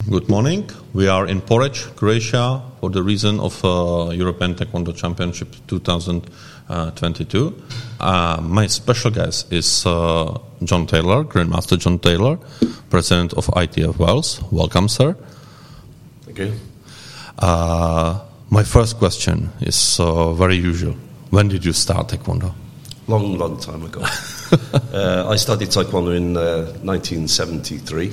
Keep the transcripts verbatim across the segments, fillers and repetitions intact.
Good morning. We are in Poreč, Croatia, for the reason of uh, European Taekwondo Championship twenty twenty-two. Uh, my special guest is uh, John Taylor, Grandmaster John Taylor, President of I T F Wales. Welcome, sir. Thank you. Uh, my first question is uh, very usual. When did you start Taekwondo? Long, long time ago. uh, I started Taekwondo in uh, nineteen seventy-three.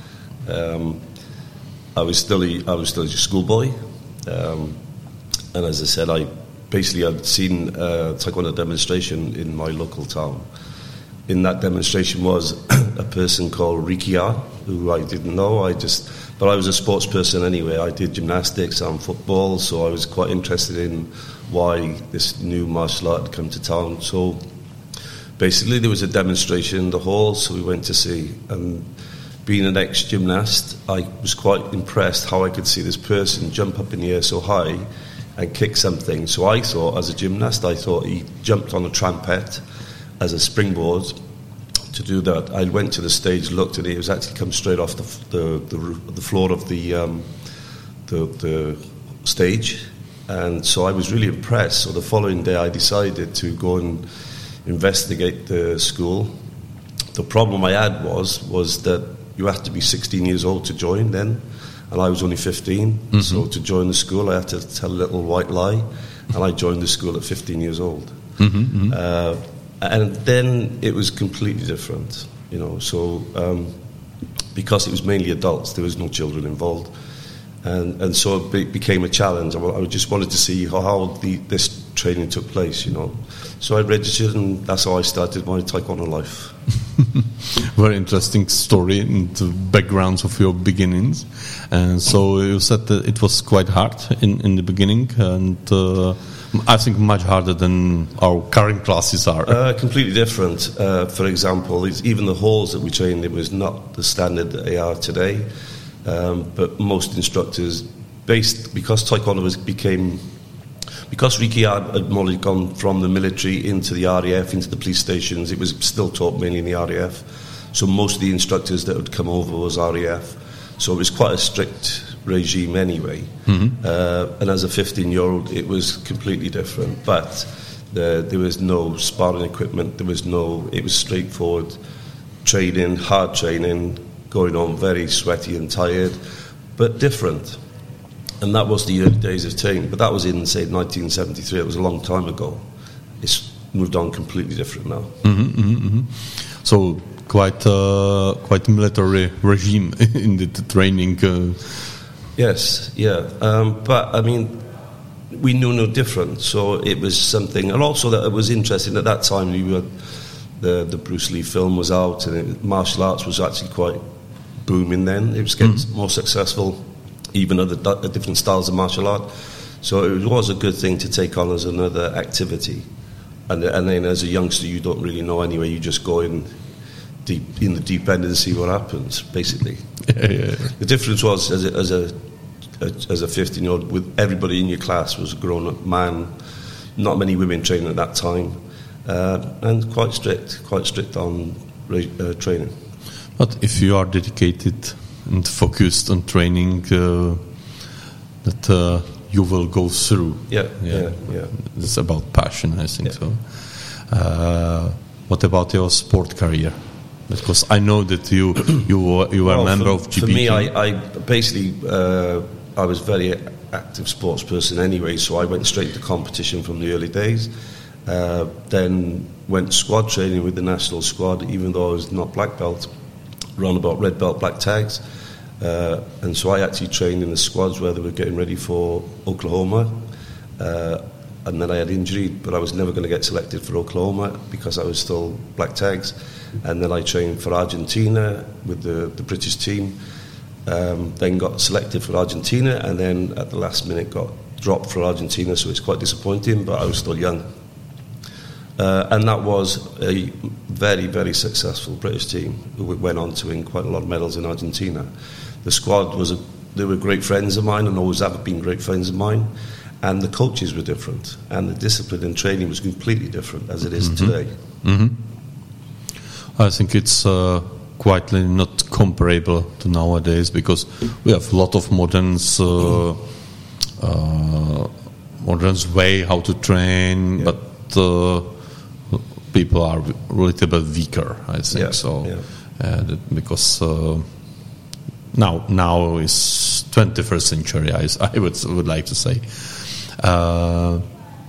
Um, I was still a, I was still a schoolboy, um, and as I said, I basically had seen a Taekwondo demonstration in my local town. In that demonstration was a person called Ricky R, who I didn't know. I just, but I was a sports person anyway. I did gymnastics and football, so I was quite interested in why this new martial art had come to town. So basically, there was a demonstration in the hall, so we went to see. And being an ex-gymnast, I was quite impressed how I could see this person jump up in the air so high and kick something. So I thought, as a gymnast, I thought he jumped on a trampette as a springboard to do that. I went to the stage, looked at it. It was actually come straight off the the, the, the floor of the, um, the the stage, and so I was really impressed. So the following day, I decided to go and investigate the school. The problem I had was was that you have to be sixteen years old to join then, and I was only fifteen. Mm-hmm. So to join the school, I had to tell a little white lie, and I joined the school at fifteen years old. Mm-hmm, mm-hmm. Uh, and then it was completely different, you know. So um, because it was mainly adults, there was no children involved, and and so it be, became a challenge. I, I just wanted to see how, how the, this training took place, you know. So I registered, and that's how I started my Taekwondo life. Very interesting story and the backgrounds of your beginnings. And so you said that it was quite hard in, in the beginning, and uh, I think much harder than our current classes are. Uh, completely different. Uh, for example, it's even the halls that we trained in was not the standard that they are today. Um, but most instructors, based because Taekwondo was, became, because Ricky had more gone from the military into the R A F, into the police stations, it was still taught mainly in the R A F. So most of the instructors that would come over was R A F. So it was quite a strict regime anyway. Mm-hmm. Uh, and as a fifteen-year-old, it was completely different. But the, there was no sparring equipment. There was no. It was straightforward training, hard training, going on very sweaty and tired, but different. And that was the early days of training. But that was in, say, nineteen seventy-three. It was a long time ago. It's moved on completely different now. Mm-hmm, mm-hmm, mm-hmm. So quite uh, quite military regime in the, the training. Uh. Yes, yeah. Um, but, I mean, we knew no different. So it was something. And also that it was interesting at that time. We were, the, the Bruce Lee film was out, and it, martial arts was actually quite booming then. It was getting mm-hmm. more successful, even other d- different styles of martial art. So it was a good thing to take on as another activity. And, and then as a youngster, you don't really know anyway. You just go in deep in the deep end and see what happens, basically. Yeah, yeah, yeah. The difference was, as a, as a, a as a fifteen-year-old, with everybody in your class was a grown-up man, not many women training at that time, uh, and quite strict, quite strict on uh, training. But if you are dedicated and focused on training, uh, that uh, you will go through. Yeah, yeah, yeah, yeah. It's about passion, I think yeah. so. Uh, what about your sport career? Because I know that you you were, you were well, a member for, of G B T. For me, I, I basically uh, I was a very active sports person anyway, so I went straight to competition from the early days. Uh, then went squad training with the national squad, even though I was not black belt. Around about red belt, black tags, uh, and so I actually trained in the squads where they were getting ready for Oklahoma, uh, and then I had injury, but I was never going to get selected for Oklahoma because I was still black tags, and then I trained for Argentina with the, the British team, um, then got selected for Argentina, and then at the last minute got dropped for Argentina, so it's quite disappointing, but I was still young. Uh, and that was a very, very successful British team who went on to win quite a lot of medals in Argentina. The squad was, a, they were great friends of mine and always have been great friends of mine. And the coaches were different. And the discipline and training was completely different as it is mm-hmm. today. Mm-hmm. I think it's uh, quite not comparable to nowadays, because we have a lot of moderns, uh, uh, modern way how to train, yeah. but uh, people are a little bit weaker, I think. Yeah. So Yeah. uh, that because uh, now now is twenty-first century, I, I would would like to say. Uh,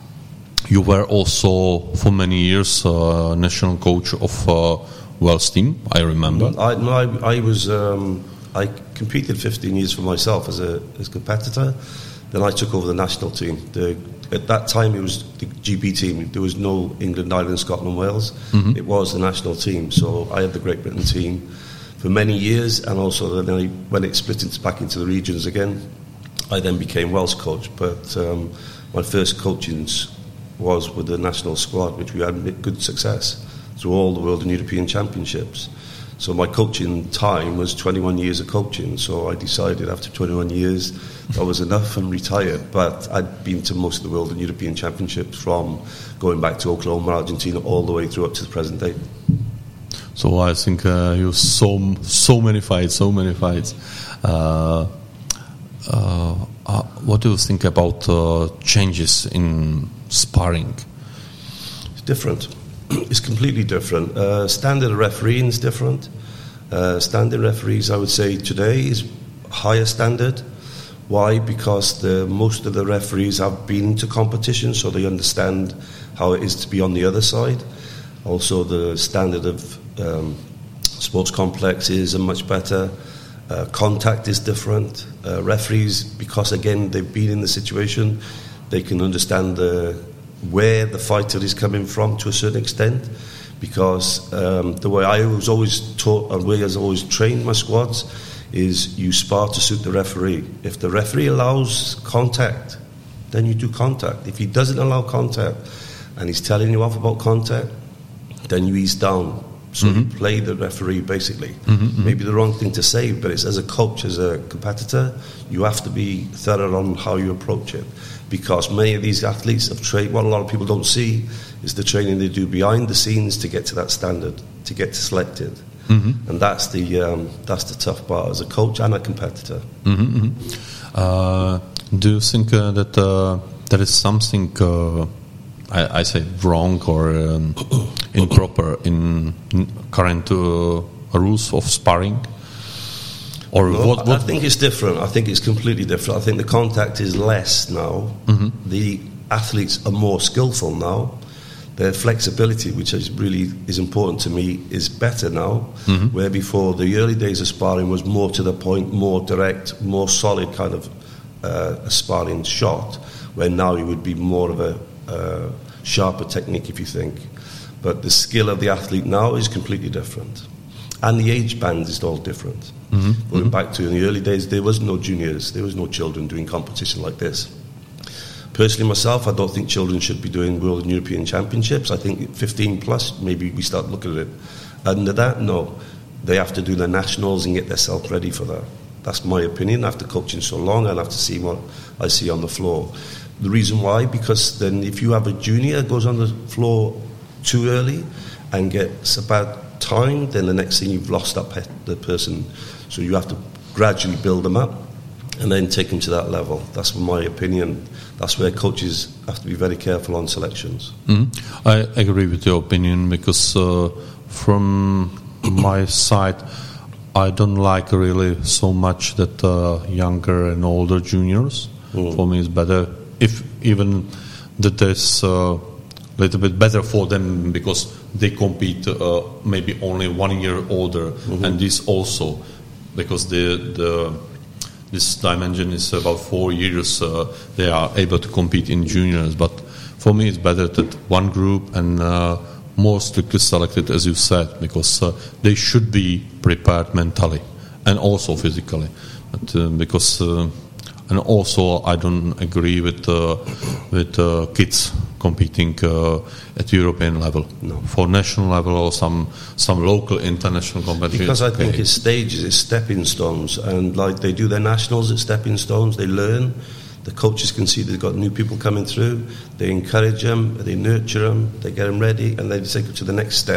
you were also for many years uh, national coach of uh, Wales team, I remember. I, no, I, I was um, I competed fifteen years for myself as a as a competitor. Then I took over the national team. The, at that time, it was the G B team. There was no England, Ireland, Scotland, Wales. Mm-hmm. It was the national team. So I had the Great Britain team for many years, and also then I, when it split into, back into the regions again, I then became Welsh coach. But um, my first coaching was with the national squad, which we had good success through all the World and European Championships. So my coaching time was twenty-one years of coaching. So I decided after twenty-one years that was enough and retired. But I'd been to most of the World and European Championships, from going back to Oklahoma, Argentina, all the way through up to the present day. So I think uh, you so so many fights, so many fights. Uh, uh, uh, what do you think about uh, changes in sparring? It's different. It's completely different. Uh, standard refereeing is different. Uh, standard referees, I would say, today is higher standard. Why? Because the, most of the referees have been to competition, so they understand how it is to be on the other side. Also, the standard of um, sports complexes are much better. Uh, contact is different. Uh, referees, because again they've been in the situation, they can understand the where the fighter is coming from to a certain extent, because um, the way I was always taught and way I was always trained my squads is you spar to suit the referee. If the referee allows contact, then you do contact. If he doesn't allow contact and he's telling you off about contact, then you ease down. So mm-hmm. you play the referee, basically. Mm-hmm. Maybe the wrong thing to say, but it's as a coach, as a competitor, you have to be thorough on how you approach it. Because many of these athletes have trained, what a lot of people don't see is the training they do behind the scenes to get to that standard, to get selected. Mm-hmm. And that's the um, that's the tough part as a coach and a competitor. Mm-hmm. Uh, do you think uh, that uh, there is something, uh, I, I say, wrong or um, improper in current uh, rules of sparring? Or no, what, what? I think it's different. I think it's completely different. I think the contact is less now. Mm-hmm. The athletes are more skillful now. Their flexibility, which is really is important to me, is better now. Mm-hmm. Where before the early days of sparring was more to the point, more direct, more solid kind of uh, a sparring shot. Where now it would be more of a uh, sharper technique, if you think. But the skill of the athlete now is completely different. And the age band is all different. Mm-hmm. Going mm-hmm. back to in the early days, there was no juniors, there was no children doing competition like this. Personally, myself, I don't think children should be doing World and European Championships. I think fifteen plus, maybe we start looking at it. Under that, no. They have to do their nationals and get themselves ready for that. That's my opinion. After coaching so long, I'll have to see what I see on the floor. The reason why, because then if you have a junior goes on the floor too early and gets a bad time, then the next thing you've lost that pe- the person. So you have to gradually build them up and then take them to that level. That's my opinion. That's where coaches have to be very careful on selections. Mm-hmm. I agree with your opinion, because uh, from my side, I don't like really so much that uh, younger and older juniors. Mm. For me, it's better if even that is a uh, little bit better for them, because they compete uh, maybe only one year older, mm-hmm. and this also because the the this dimension is about four years. Uh, they are able to compete in juniors, but for me, it's better that one group and uh, more strictly selected, as you said, because uh, they should be prepared mentally and also physically, but, uh, because. Uh, And also, I don't agree with uh, with uh, kids competing uh, at European level, no. For national level or some some local international competitions. Because I think it's stages, it's stepping stones, and like they do their nationals at stepping stones, they learn. The coaches can see they've got new people coming through. They encourage them, they nurture them, they get them ready, and they take them to the next step.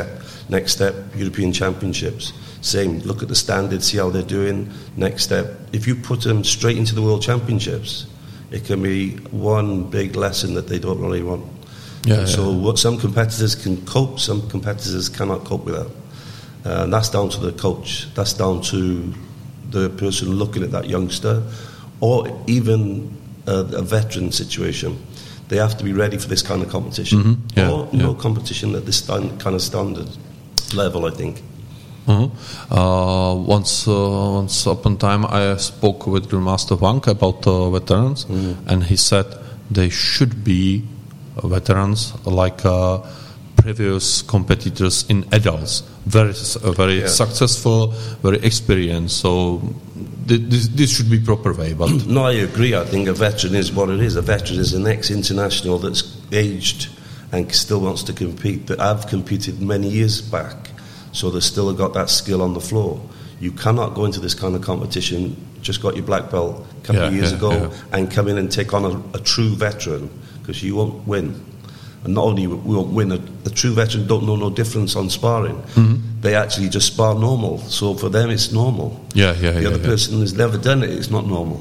Next step, European Championships. Same, look at the standards, see how they're doing. Next step, if you put them straight into the World Championships, it can be one big lesson that they don't really want. Yeah, yeah. So what some competitors can cope, some competitors cannot cope with that. Uh, and that's down to the coach. That's down to the person looking at that youngster, or even a, a veteran situation. They have to be ready for this kind of competition, mm-hmm. yeah, or yeah. no competition at this stand, kind of standard level, I think. Uh-huh. Uh, once, uh, once upon time, I spoke with Grandmaster Wang about uh, veterans, mm. and he said they should be veterans like uh, previous competitors in adults, very, uh, very yeah. successful, very experienced. So th- this, this should be proper way. But no, I agree. I think a veteran is what it is. A veteran is an ex-international that's aged and still wants to compete. That I've competed many years back. So they've still got that skill on the floor. You cannot go into this kind of competition, just got your black belt a couple yeah, of years yeah, ago, yeah. and come in and take on a, a true veteran, because you won't win. And not only we won't win, a, a true veteran don't know no difference on sparring. Mm-hmm. They actually just spar normal. So for them, it's normal. Yeah, yeah, the yeah, other yeah. person has never done it, it's not normal.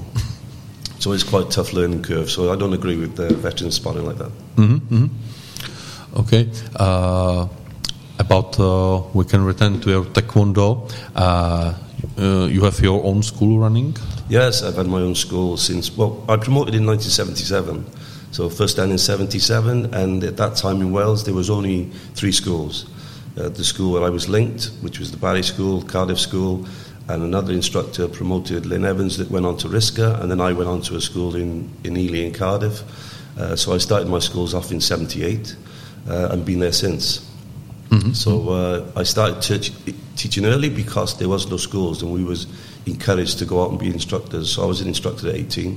So it's quite a tough learning curve. So I don't agree with the veterans sparring like that. Mm-hmm, mm-hmm. Okay. Uh, About uh, we can return to your taekwondo. Uh, uh, you have your own school running? Yes, I've had my own school since. Well, I promoted in nineteen seventy-seven, so first down in seventy-seven, and at that time in Wales there was only three schools. Uh, the school where I was linked, which was the Barry School, Cardiff School, and another instructor promoted, Lynn Evans, that went on to Risca, and then I went on to a school in in Ely in Cardiff. Uh, so I started my schools off in seventy-eight, uh, and been there since. Mm-hmm. So uh, I started teach, teaching early because there was no schools, and we was encouraged to go out and be instructors. So I was an instructor at eighteen.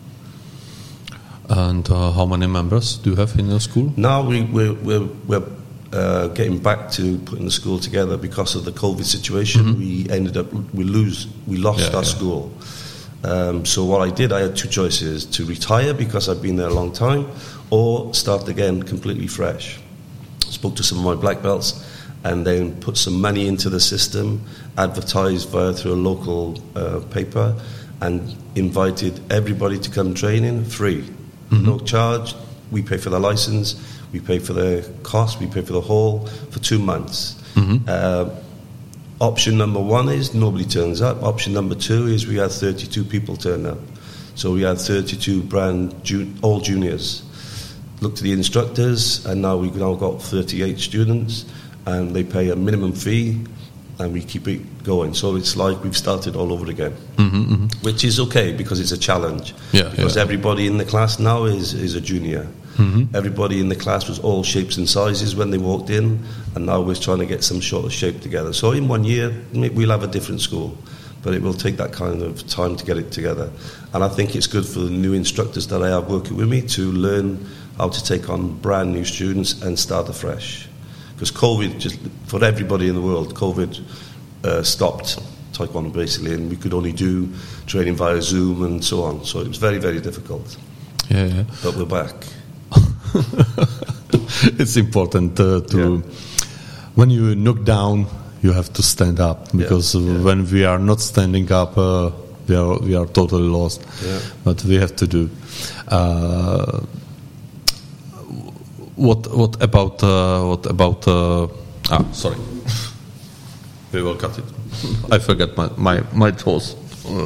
And uh, how many members do you have in your school? Now we, we're, we're, we're uh, getting back to putting the school together because of the COVID situation. Mm-hmm. We ended up we lose we lost yeah, our yeah. school. Um, so what I did, I had two choices: to retire because I've been there a long time, or start again completely fresh. Spoke to some of my black belts, and then put some money into the system, advertised via through a local uh, paper, and invited everybody to come training free, mm-hmm. no charge. We pay for the license, we pay for the cost, we pay for the hall for two months. Mm-hmm. Uh, option number one is nobody turns up. Option number two is we had thirty-two people turn up. So we had thirty-two brand ju- all juniors. Looked at the instructors, and now we've now got thirty-eight students, and they pay a minimum fee, and we keep it going. So it's like we've started all over again, mm-hmm, mm-hmm. which is okay because it's a challenge. Yeah, because yeah. everybody in the class now is, is a junior. Mm-hmm. Everybody in the class was all shapes and sizes when they walked in, and now we're trying to get some sort of shape together. So in one year, we'll have a different school, but it will take that kind of time to get it together. And I think it's good for the new instructors that I have working with me to learn how to take on brand new students and start afresh. Because COVID, just for everybody in the world, COVID uh, stopped Taekwondo basically, and we could only do training via Zoom and so on. So it was very, very difficult. Yeah, yeah. But we're back. It's important uh, to, yeah. when you knock down, you have to stand up, because yeah, yeah. when we are not standing up, uh, we are we are totally lost. Yeah. But we have to do. Uh, What what about uh, what about uh, ah sorry we will cut it. I forget my my my toes.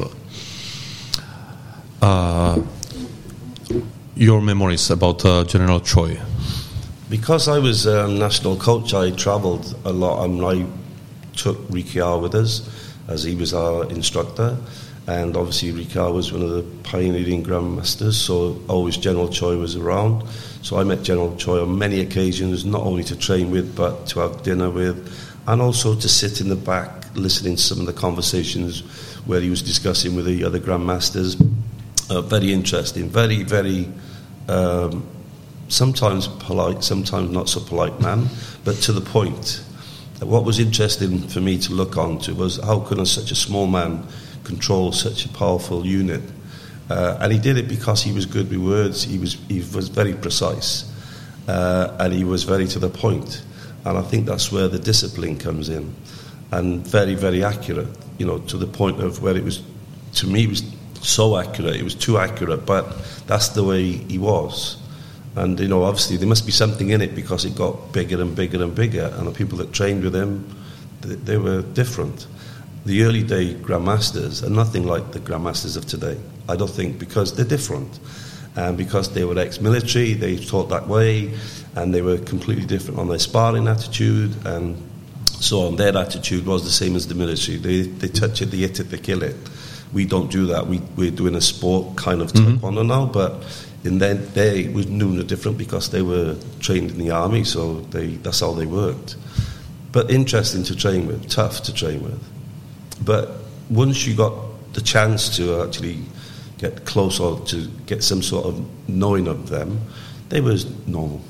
Uh, your memories about uh, General Choi. Because I was a um, national coach, I travelled a lot, and I took Rikiar with us as he was our instructor. And obviously Rikiar was one of the pioneering grandmasters, so always General Choi was around. So I met General Choi on many occasions, not only to train with, but to have dinner with, and also to sit in the back listening to some of the conversations where he was discussing with the other grandmasters. Uh, very interesting, very, very, um, sometimes polite, sometimes not so polite man, but to the point. What was interesting for me to look on to was how could such a small man control such a powerful unit, uh, and he did it because he was good with words. He was he was very precise, uh, and he was very to the point. And I think that's where the discipline comes in. And very, very accurate, you know, to the point of where it was, to me, it was so accurate. It was too accurate, but that's the way he was. And, you know, obviously there must be something in it because it got bigger and bigger and bigger. And the people that trained with him, they, they were different. The early day Grandmasters are nothing like the Grandmasters of today. I don't think, because they're different. And because they were ex-military, they taught that way, and they were completely different on their sparring attitude, and so on. Their attitude was the same as the military. They they touch it, they hit it, they kill it. We don't do that. We, we're doing a sport kind of taekwondo mm-hmm. now, but in their day it was new and different because they were trained in the army, so they that's how they worked. But interesting to train with, tough to train with. But once you got the chance to actually get close or to get some sort of knowing of them, they were normal.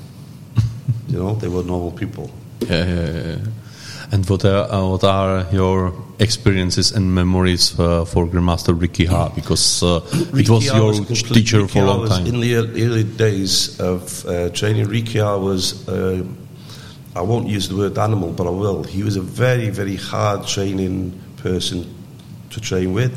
You know, they were normal people. Yeah, yeah, yeah. And what are, uh, what are your experiences and memories uh, for Grandmaster Ricky Ha? Because uh, it was your was teacher Ricky for a long was, time. In the early days of uh, training, Ricky Ha was, uh, I won't use the word animal, but I will. He was a very, very hard training person to train with.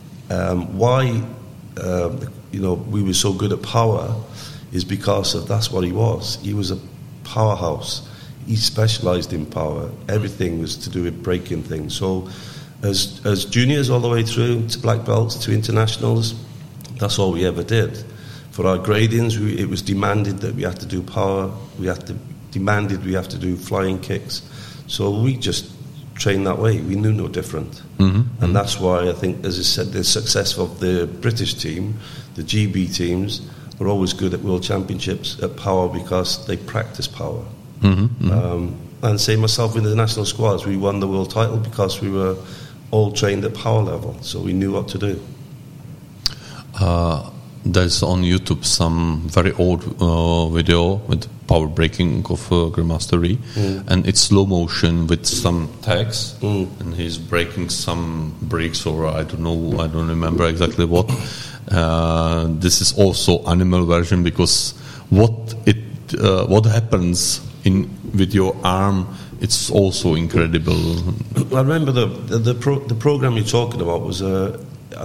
Um, why, uh, you know, we were so good at power is because of that's what he was. He was a powerhouse. He specialised in power. Everything was to do with breaking things. So as as juniors all the way through to black belts, to internationals, that's all we ever did. For our gradings, we, it was demanded that we had to do power. We had to demanded we have to do flying kicks. So we just trained that way. We knew no different. Mm-hmm. And mm-hmm. that's why I think, as I said, the success of the British team, the G B teams, were always good at World Championships at power because they practice power. Mm-hmm, mm-hmm. Um, and same myself with the national squads. We won the world title because we were all trained at power level, so we knew what to do. Uh, there's on YouTube some very old uh, video with power breaking of uh, Grandmaster Ri, mm. and it's slow motion with some tags, mm. and he's breaking some bricks, or I don't know, I don't remember exactly what. Uh, this is also animal version because what it uh, what happens in with your arm, it's also incredible. I remember the the the, pro, the program you're talking about was uh,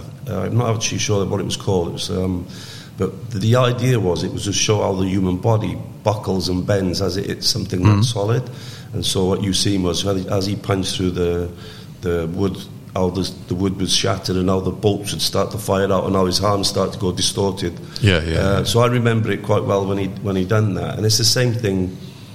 I'm not actually sure what it was called. It was, um, but the, the idea was it was to show how the human body buckles and bends as it hits something mm-hmm. that's solid. And so what you seen was as he punched through the the wood, how the, the wood was shattered and how the bolts would start to fire out and how his arms start to go distorted. Yeah, yeah. Uh, so I remember it quite well when he when he done that. And it's the same thing.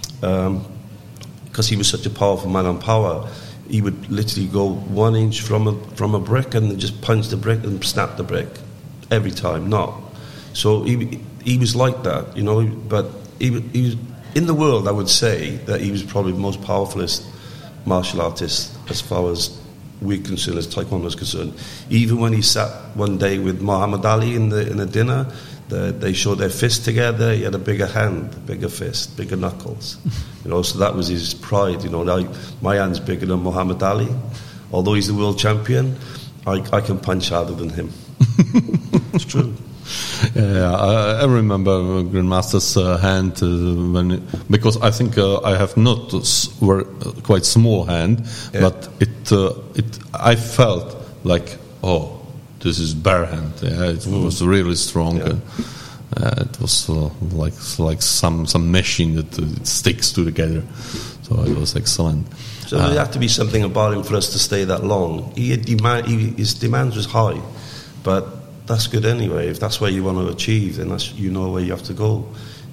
Um, because he was such a powerful man on power, he would literally go one inch from a from a brick and just punch the brick and snap the brick every time. Not so he he was like that, you know. But he, he was in the world. I would say that he was probably the most powerfulest martial artist as far as we're concerned, as Taekwondo is concerned. Even when he sat one day with Muhammad Ali in the in a dinner. The, they showed their fists together. He had a bigger hand, bigger fist, bigger knuckles. You know, so that was his pride. You know, I, my hand's bigger than Muhammad Ali. Although he's the world champion, I, I can punch harder than him. It's true. Yeah, I, I remember Grandmaster's uh, hand uh, when it, because I think uh, I have not a quite small hand, yeah. but it uh, it I felt like oh. This is bare hand. Yeah, it mm. was really strong. Yeah. Uh, it was uh, like like some some machine that uh, it sticks together. So it was excellent. So uh, there had to be something about him for us to stay that long. He had demand, he, his demands was high, but that's good anyway. If that's where you want to achieve, then that's you know where you have to go.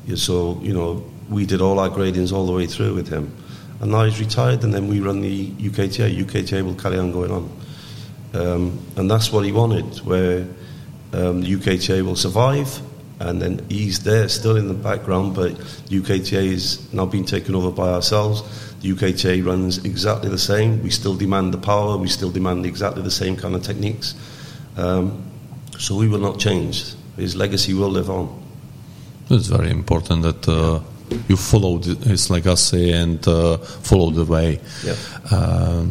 So you know we did all our gradings all the way through with him, and now he's retired, and then we run the U K T A. U K T A will carry on going on. Um, and that's what he wanted, where um, the U K T A will survive, and then he's there still in the background, but U K T A is now being taken over by ourselves. The U K T A runs exactly the same. We still demand the power, we still demand exactly the same kind of techniques. Um, so we will not change. His legacy will live on. It's very important that uh, you follow his legacy and uh, follow the way. Yeah. Uh,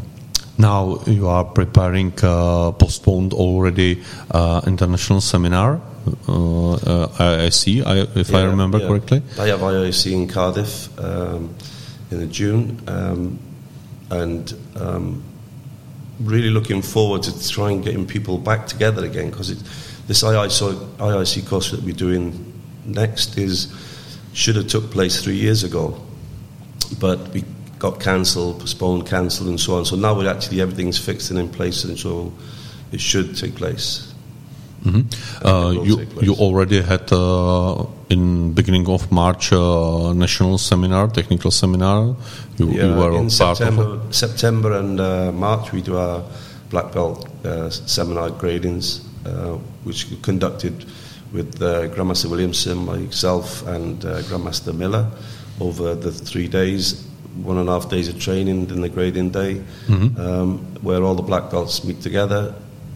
Now you are preparing uh, postponed already uh, international seminar. Uh, uh, I I C, I, if yeah, I remember yeah. correctly. I have I I C in Cardiff. Um, in the June, um, and um, really looking forward to try and getting people back together again, because this I I C course that we're doing next is should have took place three years ago, but we got cancelled, postponed, cancelled, and so on. So now we're actually everything's fixed and in place, and so it should take place. Mm-hmm. Uh, you you already had uh, in beginning of March uh, national seminar, technical seminar. You, yeah, you were in part September, of it? September and uh, March we do our black belt uh, seminar gradings, uh, which we conducted with uh, Grandmaster Williamson, myself, and uh, Grandmaster Miller over the three days, one and a half days of training, then the grading day, mm-hmm. um, where all the black belts meet together,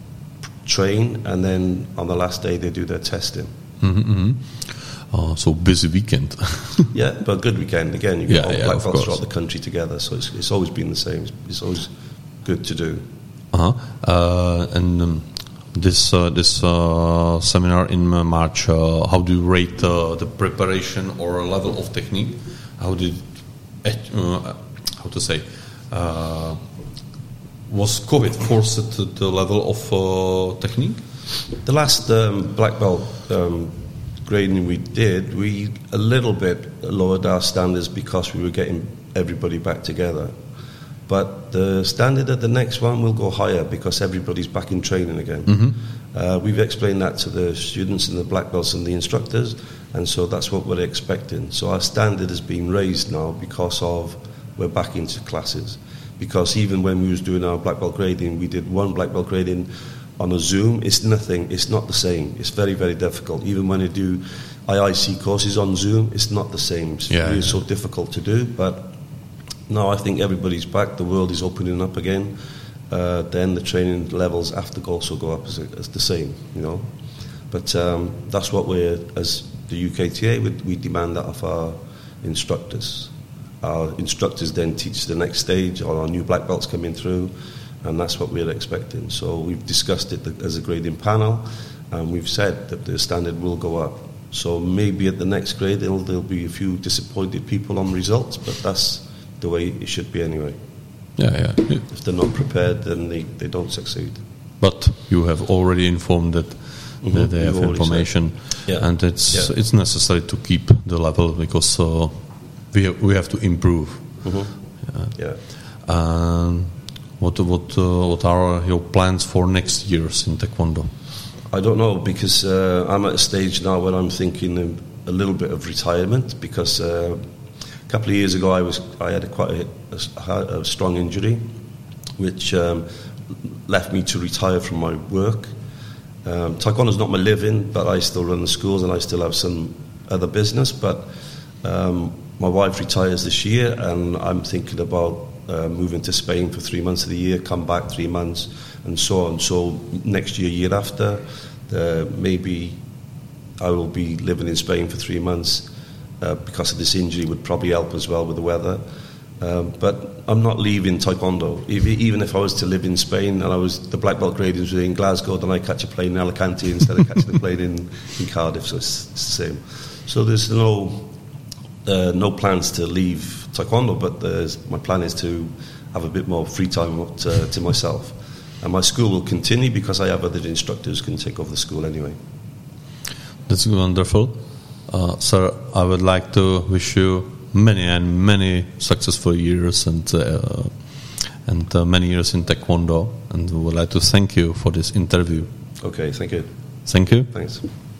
train, and then on the last day they do their testing. Mm-hmm. Uh, so busy weekend. Yeah, but good weekend again. You get yeah, all yeah, black of belts course. throughout the country together, so it's, it's always been the same. It's always good to do. Uh-huh. Uh, and um, this uh, this uh, seminar in March, uh, how do you rate uh, the preparation or level of technique? How did uh, how to say? Uh, Was COVID forced to the level of uh, technique? The last um, black belt um, grading we did, we a little bit lowered our standards because we were getting everybody back together. But the standard at the next one will go higher because everybody's back in training again. Mm-hmm. Uh, we've explained that to the students and the black belts and the instructors, and so that's what we're expecting. So our standard is being raised now because of we're back into classes. Because even when we was doing our black belt grading, we did one black belt grading on a Zoom. It's nothing. It's not the same. It's very, very difficult. Even when I do I I C courses on Zoom, it's not the same. It's yeah, really yeah. so difficult to do. But now I think everybody's back. The world is opening up again. Uh, then the training levels have to also go up as, a, as the same, you know. But um, that's what we're, as the U K T A, we, we demand that of our instructors. Our instructors then teach the next stage, or our new black belts coming through, and that's what we're expecting. So we've discussed it as a grading panel, and we've said that the standard will go up. So maybe at the next grade there'll, there'll be a few disappointed people on results, but that's the way it should be anyway. Yeah, yeah. If they're not prepared, then they, they don't succeed. But you have already informed that, mm-hmm. that they have information, yeah. and it's yeah. it's necessary to keep the level because uh, we have, we have to improve. Mm-hmm. Yeah. yeah. Um, what what uh, what are your plans for next years in Taekwondo? I don't know, because uh, I'm at a stage now where I'm thinking a little bit of retirement, because uh, a couple of years ago I was I had a quite a, a, a strong injury, which um, left me to retire from my work. Um, Taekwondo is not my living, but I still run the schools and I still have some other business. But um, my wife retires this year, and I'm thinking about uh, moving to Spain for three months of the year, come back three months, and so on. So next year, year after, uh, maybe I will be living in Spain for three months uh, because of this injury. Would probably help as well with the weather. Um, but I'm not leaving Taekwondo. If, even if I was to live in Spain and I was the black belt gradings were in Glasgow, then I catch a plane in Alicante instead of catching a plane in, in Cardiff. So it's, it's the same. So there's no uh, no plans to leave Taekwondo, but there's, my plan is to have a bit more free time to, to myself. And my school will continue because I have other instructors who can take over the school anyway. That's wonderful. Uh, sir, I would like to wish you many and many successful years and uh, and uh, many years in Taekwondo, and would like to thank you for this interview. Okay, thank you. Thank you. Thanks.